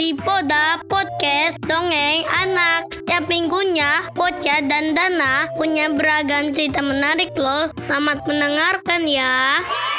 di Poda Podcast Dongeng Anak. Setiap minggunya, Poca dan Dana punya beragam cerita menarik loh. Selamat mendengarkan ya.